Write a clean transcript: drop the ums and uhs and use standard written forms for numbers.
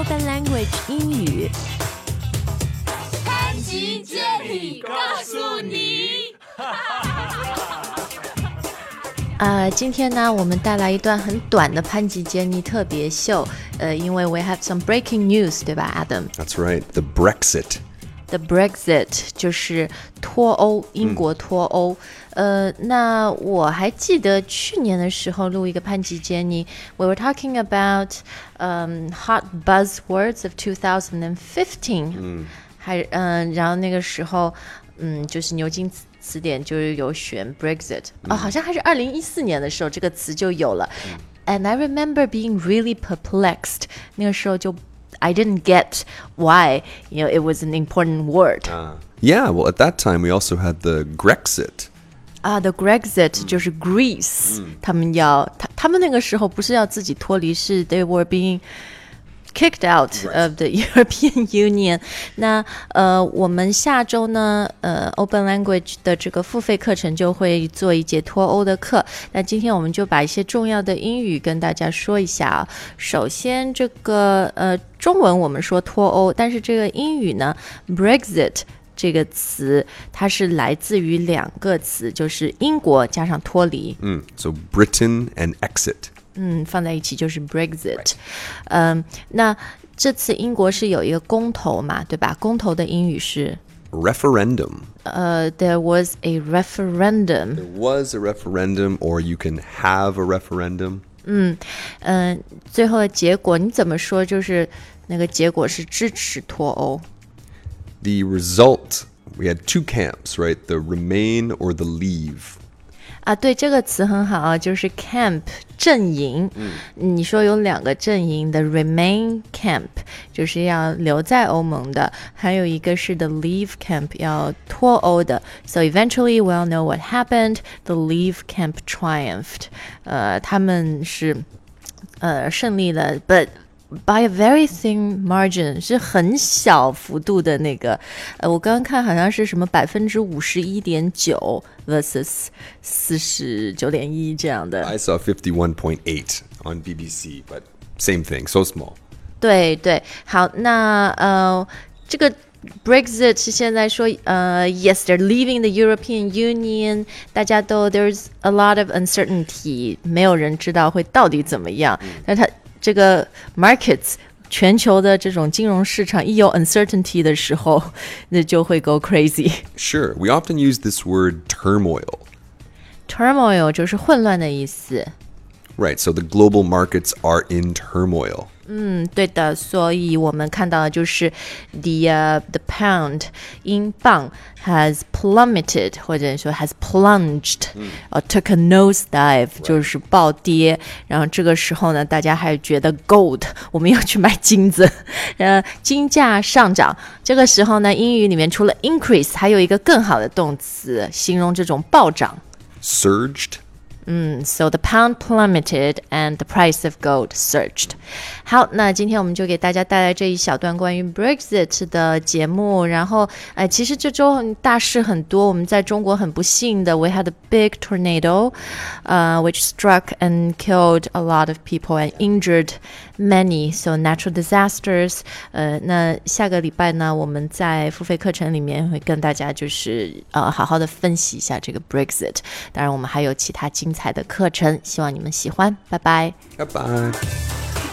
Open Language 英语。 潘吉接力告诉你。 今天呢，我们带来一段很短的潘吉杰尼特别秀。因为 we have some breaking news， 对吧 ，Adam？ That's right, the Brexit.The Brexit 就是脱欧，英国脱欧。那我还记得去年的时候录一个潘吉杰尼 we were talking about hot buzzwords of 2015。然后那个时候，就是牛津词典就是有选 Brexit，好像还是2014年的时候这个词就有了。And I remember being really perplexed， 那个时候就I didn't get why, it was an important word. Yeah, well, at that time we also had the Grexit. The Grexit 就是 Greece，他们那个时候不是要自己脱离，是 they were being kicked out of the European Union. 那我们下周呢Open Language 的这个付费课程就会做一节脱欧的课。那今天我们就把一些重要的英语跟大家说一下啊。首先这个中文我们说脱欧，但是这个英语呢 Brexit 这个词它是来自于两个词，就是英国加上脱离。 So Britain and exit. 放在一起就是 Brexit。那这次英国是有一个公投嘛，对吧？公投的英语是 referendum. There was a referendum. There was a referendum, or you can have a referendum. 最后的结果你怎么说？就是那个结果是支持脱欧。 The result, we had two camps, right? The remain or the leave. 对，这个词很好啊，就是 camp 阵营。你说有两个阵营 ，the remain camp 就是要留在欧盟的，还有一个是 the leave camp 要脱欧的。So eventually we all know what happened. The leave camp triumphed. 他们是胜利了 ，but by a very thin margin， 是很小幅度的那个，我刚刚看好像是什么51.9 versus 49.1这样的。 I saw 51.8 on BBC, but same thing, so small. 对对，好，那这个Brexit 是现在说yes, they're leaving the European Union， 大家都 there's a lot of uncertainty， 没有人知道会到底怎么样。但它这个 markets 全球的这种金融市场一有 uncertainty 的时候，那就会 go crazy. Sure, we often use this word turmoil. Turmoil 就是混乱的意思。 Right, so the global markets are in turmoil. 对的，所以我们看到的就是 the pound 英镑 has plummeted 或者说 has plunged took a nosedive 就是暴跌。然后这个时候呢，大家还觉得 gold 我们要去买金子，金价上涨。这个时候呢，英语里面除了 increase 还有一个更好的动词形容这种暴涨。 Surged.So the pound plummeted and the price of gold surged. 好，那今天我们就给大家带来这一小段关于 Brexit 的节目。然后，其实这周大事很多。我们在中国很不幸的 ，we had a big tornado, which struck and killed a lot of people and injured many. So natural disasters. 那下个礼拜呢，我们在付费课程里面会跟大家就是好好的分析一下这个 Brexit。当然，我们还有其他精彩的课程，希望你们喜欢。拜拜。 Bye-bye.